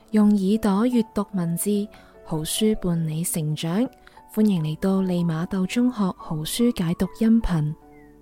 用耳朵閱讀文字，好書伴你成長。歡迎嚟到利馬竇中學好書解讀音頻。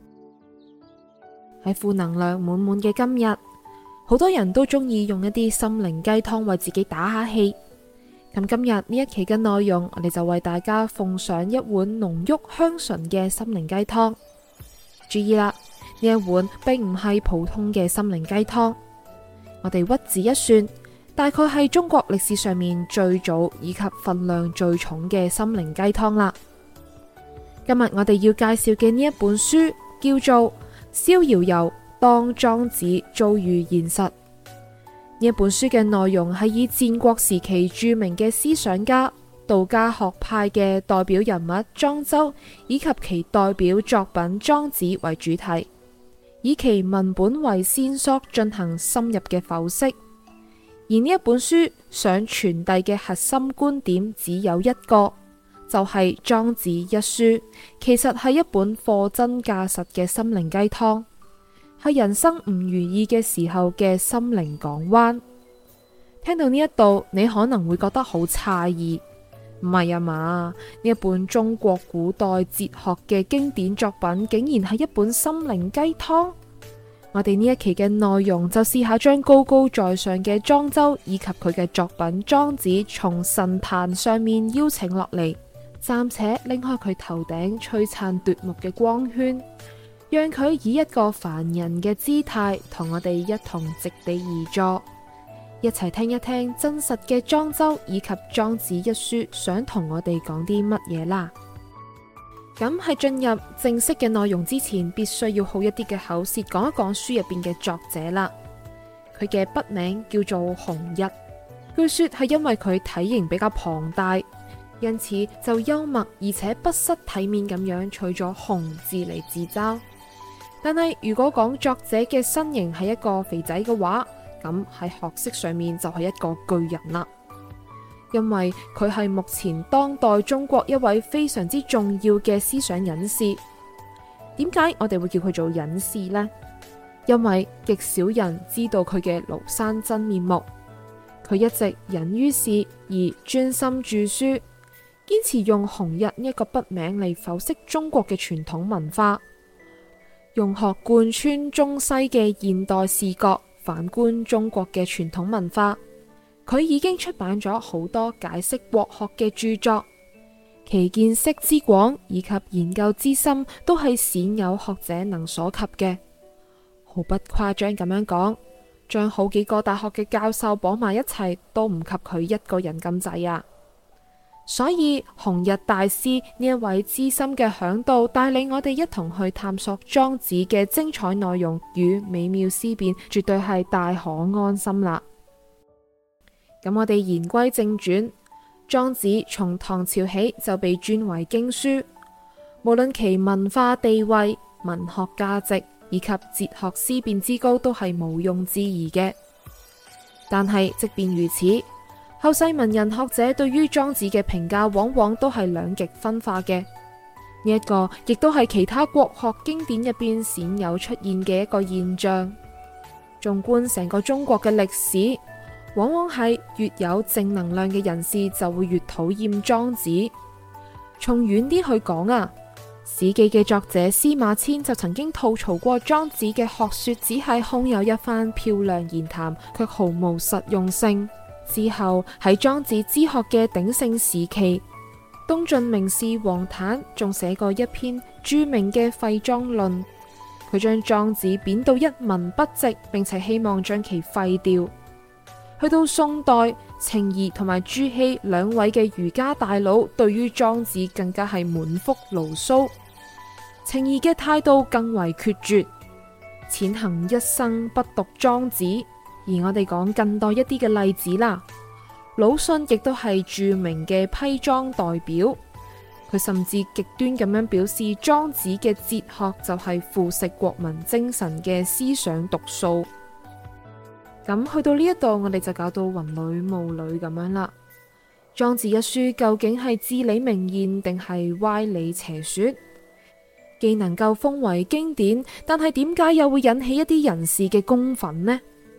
喺負能量滿滿嘅今日，好多人都中意用一啲心靈雞湯為自己打下氣。咁今日呢一期嘅內容，我哋就為大家奉上一碗濃郁香醇嘅心靈雞湯。注意啦，呢一碗並唔係普通嘅心靈雞湯，我哋屈指一算，大概係中國歷史上面最早以及份量最重嘅心靈雞湯啦。今日我哋要介紹嘅呢一本書叫做《逍遙遊：當莊子遭遇現實》。呢一本書嘅內容係以戰國時期著名嘅思想家、道家學派嘅代表人物莊周以及其代表作品《莊子》為主題，以其文本為線索進行深入嘅剖析。而呢一本書想傳遞嘅核心觀點只有一個，就係莊子一書其實係一本貨真價實嘅心靈雞湯，係人生唔如意嘅時候嘅心靈港灣。聽到呢一度，你可能會覺得好詫異，唔係啊嘛？呢一本中國古代哲學嘅經典作品，竟然係一本心靈雞湯。我哋呢一期嘅內容就試下將高高在上嘅莊周以及佢嘅作品《莊子》從神壇上面邀請落嚟，暫且拎開佢頭頂璀璨奪目嘅光圈，讓佢以一個凡人嘅姿態同我哋一同席地而坐，一齊聽一聽真實嘅莊周以及《莊子》一書想同我哋講啲乜嘢啦。咁喺進入正式嘅內容之前，必須要好一啲嘅口舌講一講書入邊嘅作者啦。佢嘅筆名叫做熊日，據說係因為佢體型比較龐大，因此就幽默而且不失體面咁樣取咗熊字嚟自嘲。但係如果講作者嘅身形係一個肥仔嘅話，咁喺學識上面就係一個巨人啦。因為佢係目前當代中國一位非常之重要嘅思想隱士。點解我哋會叫佢做隱士呢？因為極少人知道佢嘅廬山真面目。佢一直隱於世而專心著書，堅持用熊日呢一個筆名嚟剖析中國嘅傳統文化，用學貫穿中西嘅現代視角，反觀中國嘅傳統文化。佢已經出版咗好多解釋國學嘅著作，其見識之廣以及研究之深，都係鮮有學者能所及嘅。毫不誇張咁樣講，將好幾個大學嘅教授綁埋一齊，都唔及佢一個人咁滯啊！所以熊日大師呢一位資深嘅嚮導，帶領我哋一同去探索莊子嘅精彩內容與美妙思辨，絕對係大可安心啦。咁我哋言歸正傳，莊子從唐朝起就被尊為經書，無論其文化地位、文學價值以及哲學思辨之高，都係毋庸置疑嘅。但係即便如此，後世文人學者對於莊子嘅評價往往都係兩極分化嘅。呢一個亦都係其他國學經典入邊鮮有出現嘅一個現象。縱觀成個中國嘅歷史，往往係越有正能量嘅人士就會越討厭莊子。從遠啲去講啊，《史記》嘅作者司馬遷就曾經吐槽過莊子嘅學說只係空有一番漂亮言談，卻毫無實用性。之後喺莊子之學嘅鼎盛時期，東晉名士王坦仲寫過一篇著名嘅廢莊論，佢將莊子貶到一文不值，並且希望將其廢掉。去到宋代，程頤同埋朱熹兩位嘅儒家大佬對於莊子更加係滿腹牢騷。程頤嘅態度更為決絕，踐行一生不讀莊子。而我哋講近代一啲嘅例子啦，魯迅亦都係著名嘅批莊代表，佢甚至極端咁樣表示莊子嘅哲學就係腐蝕國民精神嘅思想毒素。咁去到呢一度，我哋就搞到雲裏霧裏咁樣啦。莊子一書究竟係至理名言定係歪理邪說？既能夠封為經典，但係點解又會引起一啲人士嘅公憤呢？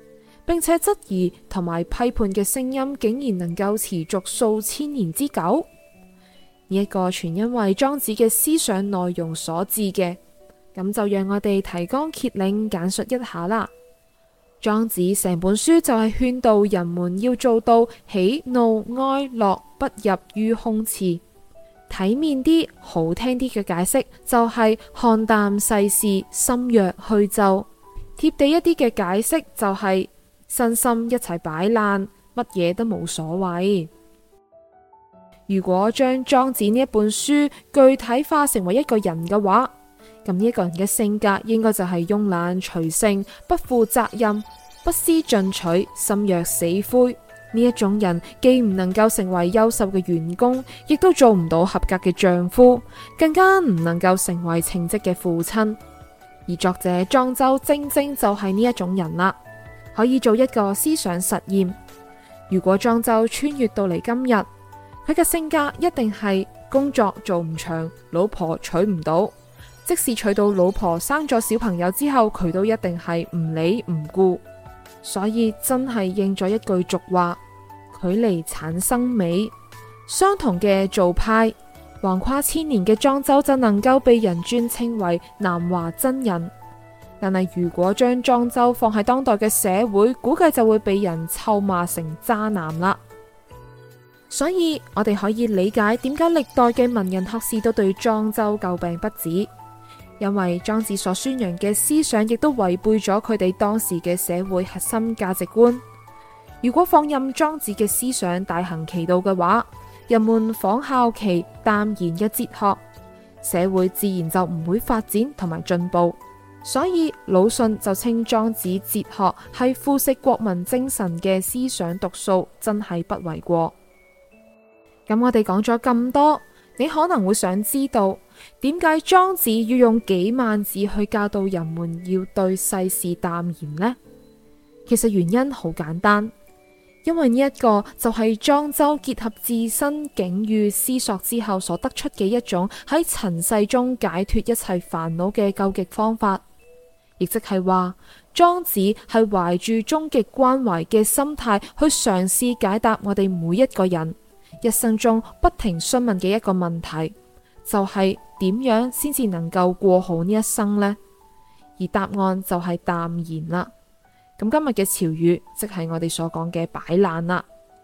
並且質疑同埋批判嘅聲音竟然能夠持續數千年之久。呢一個全因為莊子嘅思想內容所致嘅。咁就讓我哋提綱挈領簡述一下啦。莊子成本書就係勸導人們要做到喜怒哀樂不入於空詞。體面啲、好聽啲嘅解釋就係看淡世事，心若虛舟。貼地一啲嘅解釋就係身心一齊擺爛，乜嘢都冇所謂。如果將莊子呢一本書具體化成為一個人嘅話，咁呢一個人嘅性格應該就係慵懶隨性、不負責任、不思進取、心若死灰。呢一種人既唔能夠成為優秀嘅員工，亦都做唔到合格嘅丈夫，更加唔能夠成為稱職嘅父親。而作者莊周正正就係呢一種人啦，可以做一個思想實驗。如果莊周穿越到嚟今日，佢嘅性格一定係工作做唔長，老婆娶唔到。即使娶到老婆生咗小朋友之後，佢都一定係唔理唔顧。所以真係應咗一句俗話：距離產生美。相同嘅做派，橫跨千年嘅莊周就能夠被人尊稱為南華真人。但係如果將莊周放喺當代嘅社會，估計就會被人臭罵成渣男啦。所以我哋可以理解點解歷代嘅文人學士都對莊周詬病不止。因為莊子所宣揚嘅思想亦都違背咗佢哋當時嘅社會核心價值觀。如果放任莊子嘅思想大行其道嘅話，人們仿效其淡然嘅哲學，社會自然就唔會發展同埋進步。所以魯迅就稱莊子哲學係腐蝕國民精神嘅思想毒素，真係不為過。咁我哋講咗咁多，你可能會想知道，點解莊子要用幾萬字去教導人們要對世事淡然呢？其實原因好簡單，因為呢一個就係莊周結合自身境遇思索之後所得出嘅一種喺塵世中解脫一切煩惱嘅究極方法，亦即係話莊子係懷住終極關懷嘅心態去嘗試解答我哋每一個人一生中不停詢問嘅一個問題，就係點樣先至能夠過好呢一生呢？而答案就係淡然啦。咁今日嘅潮語即係我哋所講嘅擺爛啦。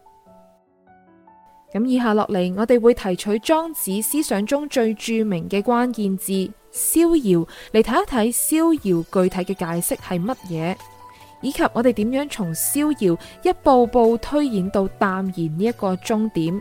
咁以下落嚟，我哋會提取莊子思想中最著名嘅關鍵字逍遙嚟睇一睇逍遙具體嘅解釋係乜嘢，以及我哋點樣從逍遙一步步推演到淡然呢一個終點。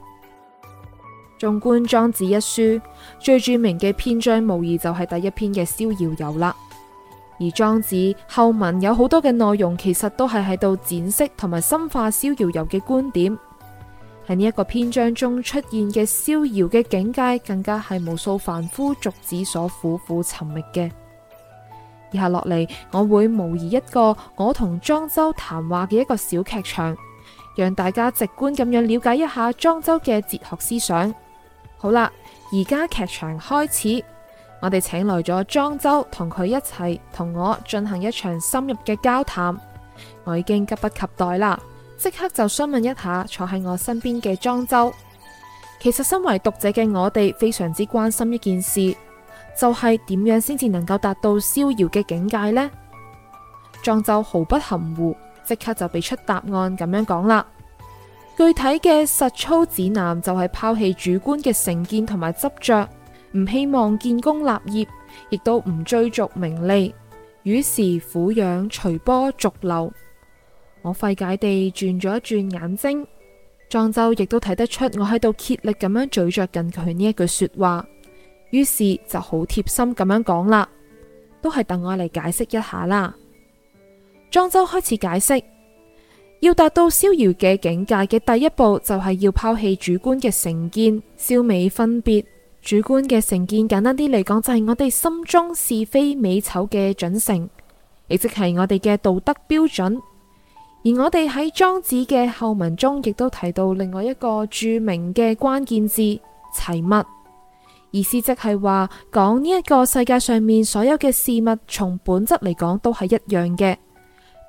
縱觀莊子一書，最著名嘅篇章無疑就係第一篇嘅逍遙遊啦。而莊子後文有好多嘅內容，其實都係喺度展示同埋深化逍遙遊嘅觀點。喺呢一個篇章中出現嘅逍遙嘅境界，更加係無數凡夫俗子所苦苦尋覓嘅。以下落嚟，我會模擬一個我同莊周談話嘅一個小劇場，讓大家直觀咁樣了解一下莊周嘅哲學思想。好啦，而家劇場開始。我哋請來咗莊周，同佢一齊同我進行一場深入嘅交談。我已經急不及待啦，即刻就詢問一下坐喺我身邊嘅莊周。其實身為讀者嘅我哋非常之關心一件事，就係點樣先至能夠達到逍遙嘅境界呢？莊周毫不含糊，即刻就俾出答案，咁樣講啦。具體嘅實操指南就係拋棄主觀嘅成見同埋執着，唔希望建功立業，亦都唔追逐名利，與時俯仰，隨波逐流。我費解地轉咗一轉眼睛，莊周亦都睇得出我喺度竭力咁樣咀嚼緊佢呢一句說話，於是就好貼心咁樣講啦，都係等我嚟解釋一下啦。莊周開始解釋，要達到逍遙嘅境界嘅第一步，就係要拋棄主觀嘅成見，消弭分別。主觀嘅成見，簡單啲嚟講，就係我哋心中是非美醜嘅準繩，亦即係我哋嘅道德標準。而我哋喺莊子嘅後文中，亦都提到另外一個著名嘅關鍵字齊物，意思即係話講呢一個世界上面所有嘅事物，從本質嚟講都係一樣嘅，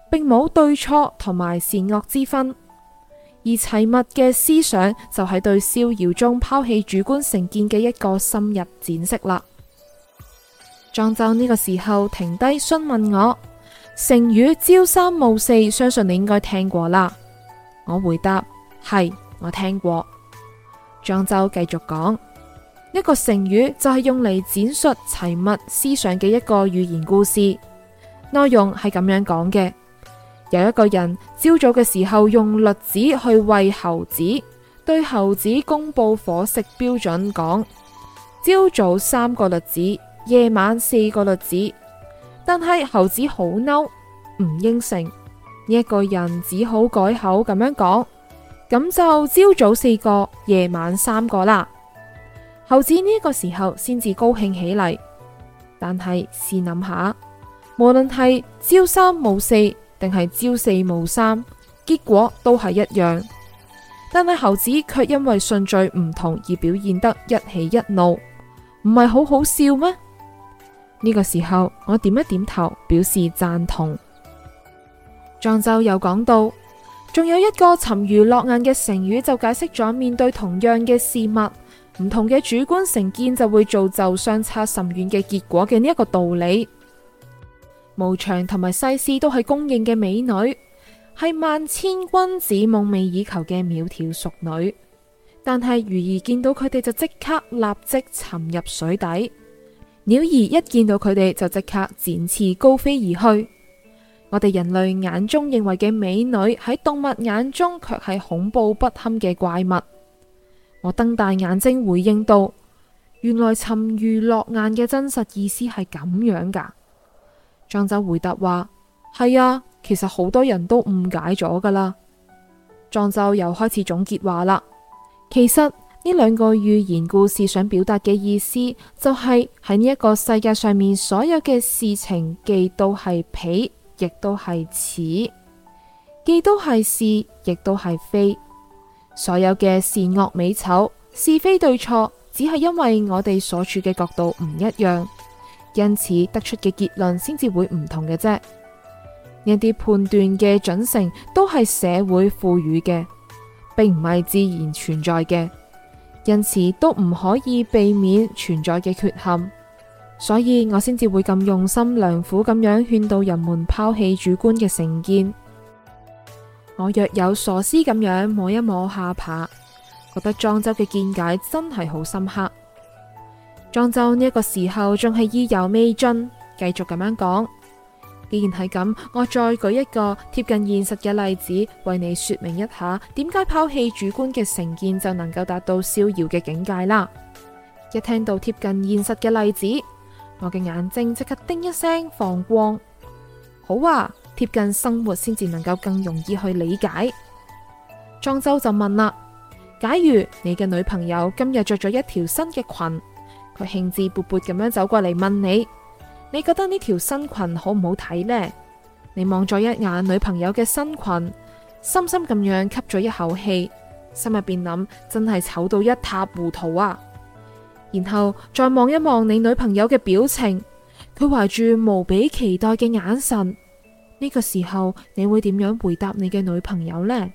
並冇對錯同埋善惡之分，而齊物嘅思想就喺對逍遙中拋棄主觀成見嘅一個深入展釋啦。莊周呢個時候停低詢問我，成語朝三暮四，相信你應該聽過啦。我回答係，我聽過。莊周繼續講，一個成語就係用嚟展述齊物思想嘅一個寓言故事，內容係咁樣講嘅。有一個人朝早嘅時候用栗子去餵猴子，對猴子公布伙食標準，講朝早3個栗子，夜晚4個栗子。但係猴子好嬲，唔應承。呢一個人只好改口咁樣講，咁就朝早4個，夜晚3個啦。猴子呢個時候先至高興起嚟。但係試諗下，無論係朝三暮四定係朝四暮三，結果都係一樣。但係猴子卻因為順序唔同而表現得一喜一怒，唔係好好笑咩？呢個時候我點一點頭表示贊同。莊周又講到，仲有一個沉魚落雁嘅成語就解釋咗面對同樣嘅事物，唔同嘅主觀成見就會造就相差甚遠嘅結果嘅呢一個道理。無常同埋世事都係公認嘅美女，係萬千君子夢寐以求嘅窈窕淑女，但係魚兒見到佢哋就即刻立即沉入水底，鳥兒一見到佢哋就即刻展翅高飛而去。我哋人類眼中認為嘅美女，喺動物眼中卻係恐怖不堪嘅怪物。我瞪大眼睛回應道，原來沉魚落雁嘅真實意思係咁樣噶。莊周回答話，係啊，其實好多人都誤解咗噶啦。莊周又開始總結話啦，其實呢兩個寓言故事想表達嘅意思，就係喺呢一個世界上面所有嘅事情，既都係彼，亦都係此，既都係是，亦都係非。所有嘅善惡美醜、是非對錯，只係因為我哋所處嘅角度唔一樣，因此得出嘅結論先至會唔同嘅啫。呢啲判斷嘅準繩都係社會賦予嘅，並唔係自然存在嘅，因此都唔可以避免存在嘅缺陷。所以我先至會咁用心良苦咁樣勸導人們拋棄主觀嘅成見。我若有所思咁樣摸一摸下巴，覺得莊周嘅見解真係好深刻。莊周呢一個時候仲係意猶未盡，繼續咁樣講。既然係咁，我再舉一個貼近現實嘅例子，為你說明一下點解拋棄主觀嘅成見就能夠達到逍遙嘅境界啦。一聽到貼近現實嘅例子，我嘅眼睛即刻叮一聲放光。好啊，貼近生活先至能夠更容易去理解。莊周就問啦，假如你嘅女朋友今日着咗一條新嘅裙，佢興致勃勃咁樣走過嚟問你，你覺得呢條新裙好唔好睇呢？你望咗一眼女朋友嘅新裙，深深咁樣吸咗一口氣，心入邊諗，真係醜到一塌糊塗啊！然後再望一望你女朋友嘅表情，佢懷住無比期待嘅眼神，呢個時候你會點樣回答你嘅女朋友呢？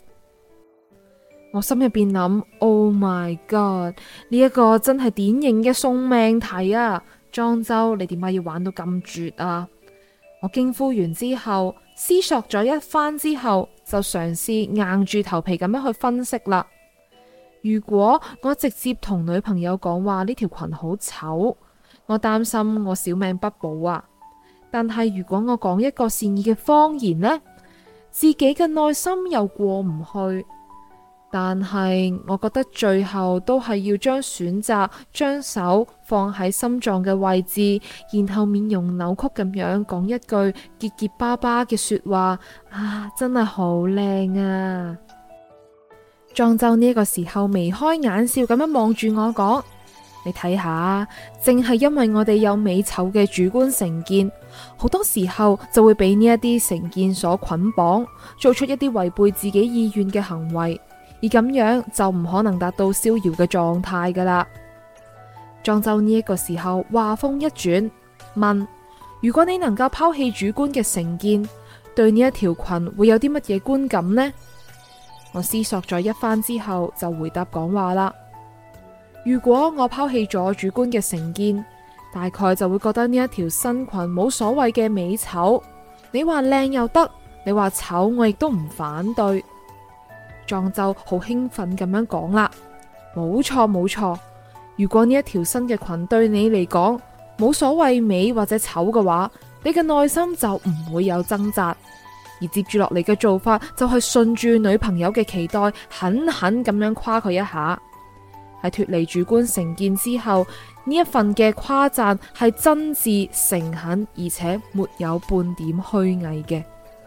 我心入邊諗 ，Oh my God， 呢一個真係典型嘅送命題啊！莊周，你點解要玩到咁絕啊？我驚呼完之後，思索咗一番之後，就嘗試硬住頭皮咁樣去分析啦。如果我直接同女朋友講話呢條裙好醜，我擔心我小命不保啊。但係如果我講一個善意嘅謊言呢，自己嘅內心又過唔去。但係我覺得最後都係要將手放喺心臟嘅位置，然後面容扭曲咁樣講一句結結巴巴嘅說話啊，真係好靚啊！莊周呢個時候眉開眼笑咁樣望住我講，你睇下，正係因為我哋有美醜嘅主觀成見，好多時候就會俾呢一啲成見所捆綁，做出一啲違背自己意願嘅行為，而咁樣就唔可能達到逍遙嘅狀態噶啦。莊周呢一個時候話鋒一轉，問：如果你能夠拋棄主觀嘅成見， 對呢一條裙會有啲乜嘢觀感呢？我思索咗一番之後就回答講話啦。如果我拋棄咗主觀嘅成見，大概就會覺得呢一條新裙冇所謂嘅美醜。你話靚又得，你話醜我亦都唔反對。莊周好興奮咁樣講啦，冇錯冇錯。如果呢一條新嘅裙對你嚟講冇所謂美或者醜嘅話，你嘅內心就唔會有掙扎。而接住落嚟嘅做法就係順住女朋友嘅期待，狠狠咁樣誇佢一下。喺脫離主觀成見之後，呢一份嘅誇讚係真摯誠懇，而且沒有半點虛偽嘅。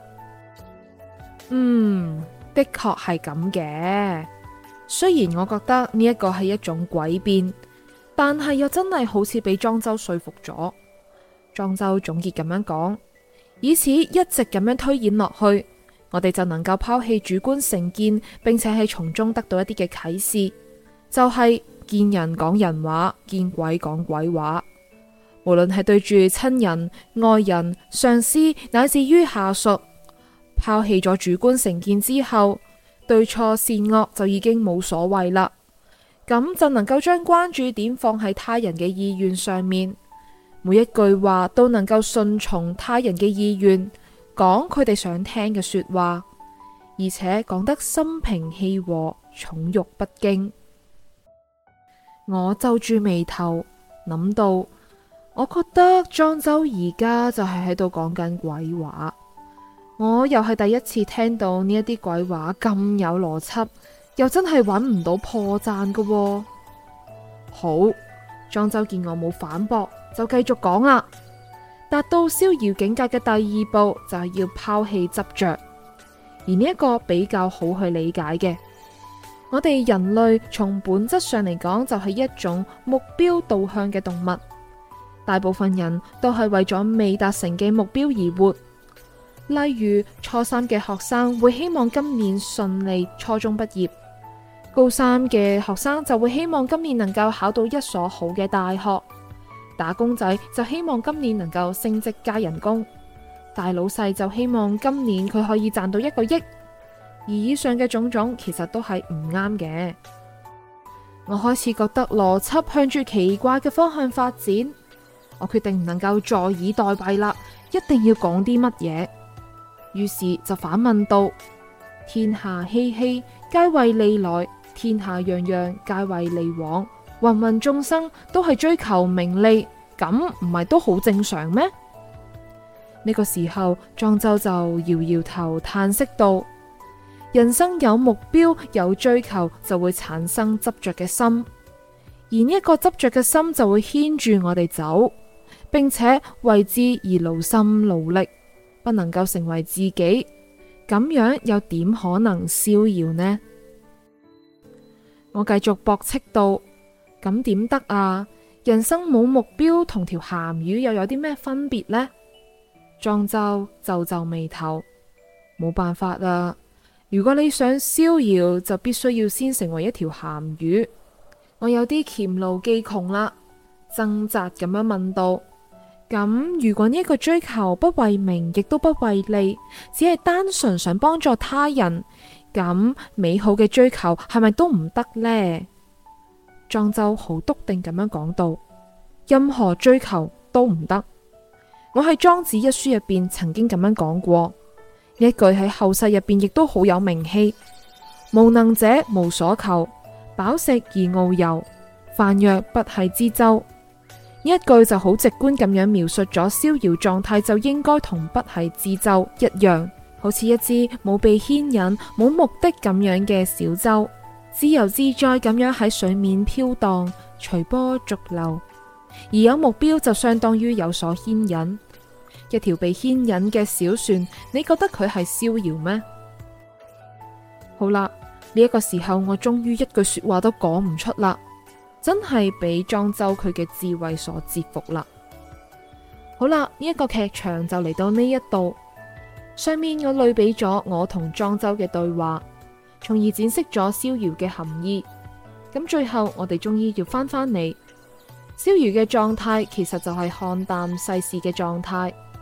的確係咁嘅。雖然我覺得呢一個係一種詭辯，但係又真係好似俾莊周說服咗。莊周總結咁樣講，以此一直咁樣推演落去，我哋就能夠拋棄主觀成見，並且係從中得到一啲嘅啟示，就係見人講人話，見鬼講鬼話。無論係對住親人、愛人、上司，乃至於下屬，拋棄咗主觀成見之後，對錯善惡就已經冇所謂啦。咁就能夠將關注點放喺他人嘅意願上面，每一句話都能夠順從他人嘅意願，講佢哋想聽嘅說話，而且講得心平氣和，寵辱不驚。我皺住眉頭諗到，我覺得莊周而家就係喺度講緊鬼話。我又係第一次聽到呢一啲鬼話咁有邏輯，又真係揾唔到破綻㗎喎。好，莊周見我冇反駁，就繼續講啦。達到逍遙境界嘅第二步就係要拋棄執着，而呢一個比較好去理解嘅。我哋人類從本質上嚟講就係一種目標導向嘅動物，大部分人都係為咗未達成嘅目標而活。例如初三嘅學生會希望今年順利初中畢業，高三嘅學生就會希望今年能夠考到一所好嘅大學，打工仔就希望今年能夠升職加人工，大老細就希望今年佢可以賺到1個億。而以上嘅種種其實都係唔啱嘅。我開始覺得邏輯向住奇怪嘅方向發展，我決定唔能夠坐以待斃啦，一定要講啲乜嘢。於是就反問道：天下熙熙，皆為利來；天下攘攘，皆為利往。芸芸眾生都係追求名利，咁唔係都好正常咩？呢個時候，莊周就搖搖頭嘆息道：人生有目標有追求，就會產生執着嘅心，而呢一個執着嘅心就會牽住我哋走，並且為之而勞心勞力。不能夠成為自己，咁樣又點可能逍遙呢？我繼續駁斥道：咁點得啊？人生冇目標同條鹹魚又有啲咩分別呢？莊周皺眉頭，冇辦法啦。如果你想逍遙，就必須要先成為一條鹹魚。我有啲黔驢技窮啦，掙扎咁樣問道：咁如果呢一個追求不為名，亦都不為利，只係單純想幫助他人，咁美好嘅追求係咪都唔得呢？莊周好篤定咁樣講道：任何追求都唔得。我喺莊子一書入邊曾經咁樣講過，一句喺後世入邊亦都好有名氣：無能者無所求，飽食而遨遊，飯若不繫之舟。呢一句就好直觀咁樣描述咗逍遙狀態就應該同不繫之舟一樣，好似一支冇被牽引、冇目的咁樣嘅小舟，自由自在咁樣喺水面飄蕩，隨波逐流。而有目標就相當於有所牽引。一條被牽引嘅小船，你覺得佢係逍遙咩？好啦，呢一個時候我終於一句說話都講唔出啦。真係俾莊周佢嘅智慧所折服啦。好啦，呢一個劇場就嚟到呢一度。上面我類比咗我同莊周嘅對話，從而展釋咗逍遙嘅含義。咁最後我哋終於要翻返嚟，逍遙嘅狀態其實就係看淡世事嘅狀態。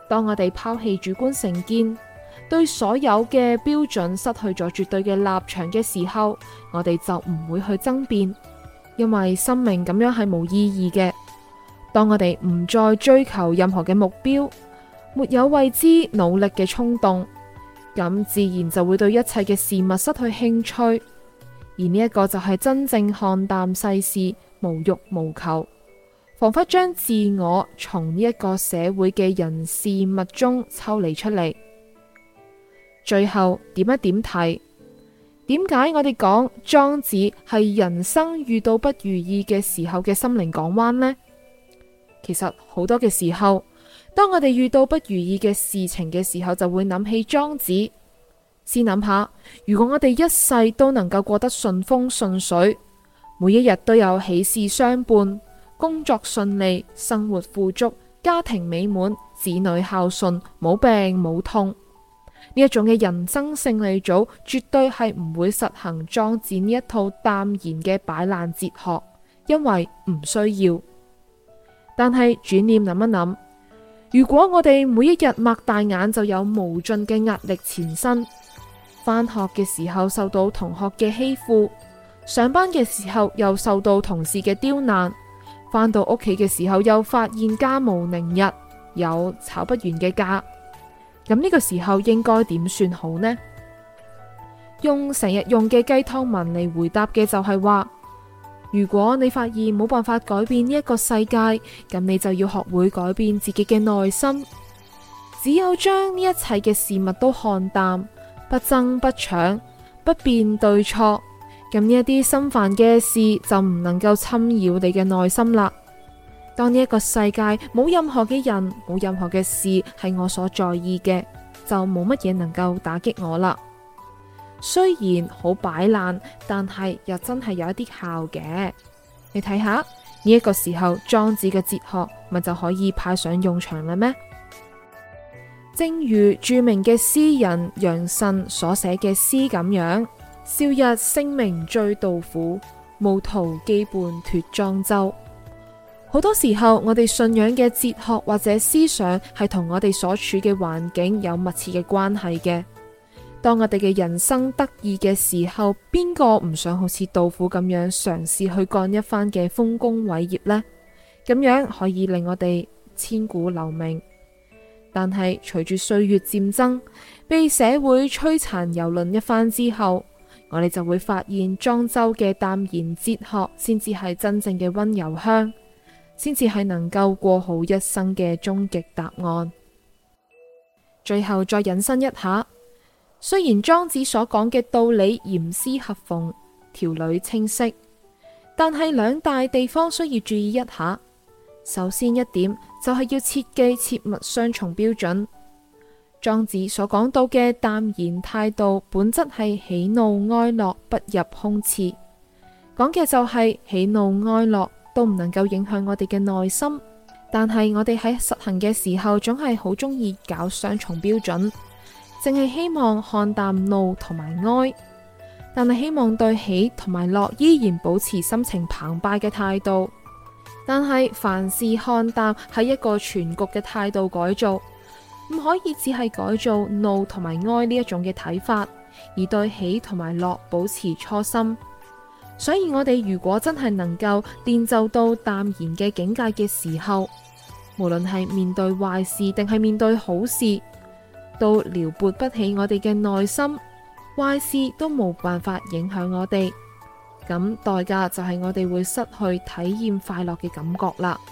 當我哋拋棄主觀成見，對所有嘅標準失去咗絕對嘅立場嘅時候，我哋就唔會去爭辯，因為生命咁樣係冇意義嘅。當我哋唔再追求任何嘅目標，沒有為之努力嘅衝動，咁自然就會對一切嘅事物失去興趣，而呢一個就係真正看淡世事，無欲無求，仿佛將自我從呢一個社會嘅人事物中抽離出嚟。最後點一點題，點解我哋講莊子係人生遇到不如意嘅時候嘅心靈港灣呢？其實好多嘅時候，當我哋遇到不如意嘅事情嘅時候，就會諗起莊子。先諗下，如果我哋一世都能夠過得順風順水，每一日都有喜事相伴，工作順利，生活富足，家庭美滿，子女孝順，冇病冇痛，呢一種嘅人生勝利組絕對係唔會實行莊子呢一套淡然嘅擺爛哲學，因為唔需要。但係轉念諗一諗，如果我哋每一日擘大眼就有無盡嘅壓力纏身，返學嘅時候受到同學嘅欺負，上班嘅時候又受到同事嘅刁難，返到屋企嘅時候又發現家無寧日，有吵不完嘅架，咁呢個時候應該點算好呢？用成日用嘅雞湯文嚟回答嘅就係話，如果你發現冇辦法改變呢一個世界，咁你就要學會改變自己嘅內心。只有將呢一切嘅事物都看淡，不爭不搶，不辨對錯，咁呢一啲心煩嘅事就唔能夠侵擾你嘅內心啦。當呢一個世界冇任何嘅人，冇任何嘅事係我所在意嘅，就冇乜嘢能夠打擊我啦。雖然好擺爛，但係又真係有一啲效嘅。你睇下呢一個時候，莊子嘅哲學咪就可以派上用場啦咩？正如著名嘅詩人楊慎所寫嘅詩咁樣：少日聲名追杜甫，暮途羈伴脫莊周。好多時候，我哋信仰嘅哲學或者思想係同我哋所處嘅環境有密切嘅關係嘅。當我哋嘅人生得意嘅時候，邊個唔想好似杜甫咁樣嘗試去幹一番嘅豐功偉業呢？咁樣可以令我哋千古留名。但係隨住歲月漸增，被社會摧殘蹂躪一番之後，我哋就會發現莊周嘅淡然哲學先至係真正嘅溫柔鄉，先至係能夠過好一生嘅終極答案。最後再引申一下。雖然莊子所講嘅道理嚴絲合縫，條理清晰，但係兩大地方需要注意一下。首先一點就係要切記切勿雙重標準。莊子所講到嘅淡然態度，本質係喜怒哀樂不入空次，講嘅就係喜怒哀樂都唔能夠影響我哋嘅內心，但係我哋喺實行嘅時候，總係好中意搞雙重標準。淨係希望看淡怒同埋哀，但係希望對喜同埋樂依然保持心情澎湃嘅態度。但係凡事看淡係一個全局嘅態度改造，唔可以只係改造怒同埋哀呢一種嘅睇法，而對喜同埋樂保持初心。所以我哋如果真係能夠練就到淡然嘅境界嘅時候，無論係面對壞事定係面對好事，都撩撥不起我哋嘅內心，壞事都冇辦法影響我哋，咁代價就係我哋會失去體驗快樂嘅感覺啦。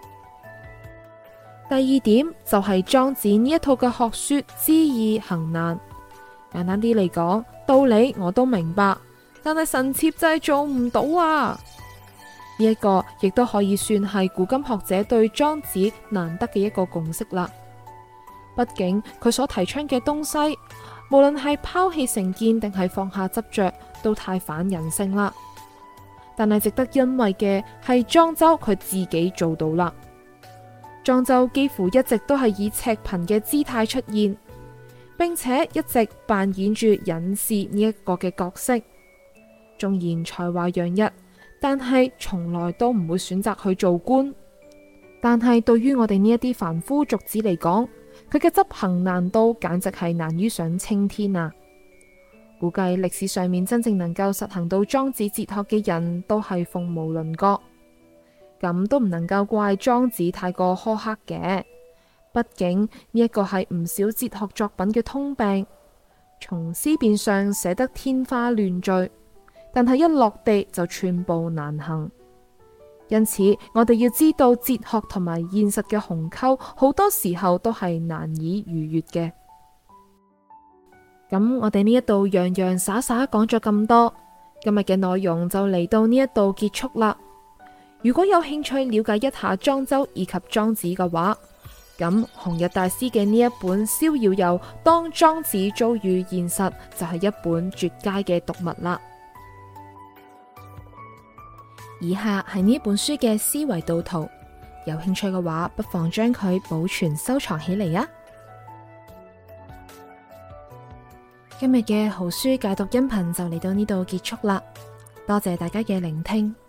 第二點就係莊子呢一套嘅學說知易行難。簡單啲嚟講，道理我都明白，但係臣妾就係做唔到啊！呢一個亦都可以算係古今學者對莊子難得嘅一個共識啦。畢竟佢所提倡嘅東西，無論係拋棄成見定係放下執着，都太反人性啦。但係值得欣慰嘅係莊周佢自己做到啦。莊周幾乎一直都係以赤貧嘅姿態出現，並且一直扮演住隱士呢一個嘅角色。縱然才華洋溢，但係從來都唔會選擇去做官。但係對於我哋呢一啲凡夫俗子嚟講， 佢嘅執行難度簡直係難於上青天啊！估計歷史上面真正能夠實行到莊子哲學嘅人都係鳳毛麟角，咁都唔能夠怪莊子太過苛刻嘅。畢竟呢一個係唔少哲學作品嘅通病，從思辨上寫得天花亂墜，但係一落地就寸步難行。因此，我哋要知道哲學同埋現實嘅鴻溝，好多時候都係難以逾越嘅。咁我哋呢一度洋洋灑灑講咗咁多，今日嘅內容就嚟到呢一度結束啦。如果有興趣了解一下莊周以及莊子嘅話，咁弘日大師嘅呢一本《逍遙遊》，當莊子遭遇現實，就係一本絕佳嘅讀物啦。以下係呢本書嘅思維導圖，有興趣嘅話，不妨將佢保存收藏起嚟啊！今日嘅好書解讀音頻就嚟到呢度結束啦，多謝大家嘅聆聽。